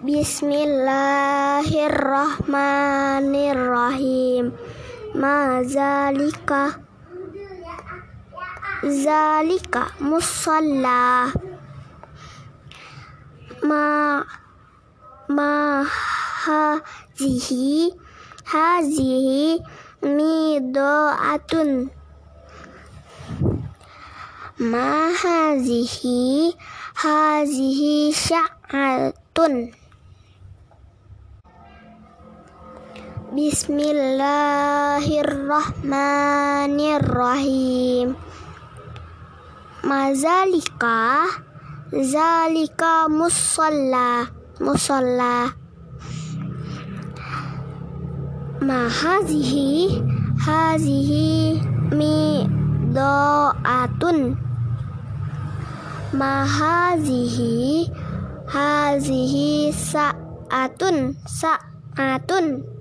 Bismillahirrahmanirrahim. Zalika musalla. Hazihi midoatun. Hazihi sya'atun. Bismillahirrahmanirrahim. Zalika musalla. Hazihi midoatun. Hazihi sa'atun.